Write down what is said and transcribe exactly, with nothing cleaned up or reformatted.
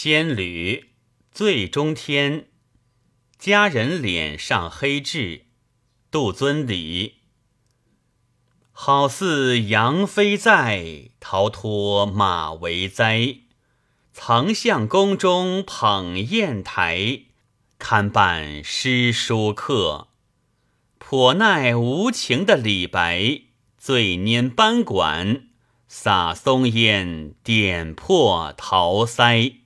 仙侣醉中天，佳人脸上黑痣，杜遵礼。好似杨妃在，逃脱马嵬哉。曾向宫中捧砚台，堪伴诗书客。颇耐无情的李白，醉拈班管，洒松烟，点破桃腮。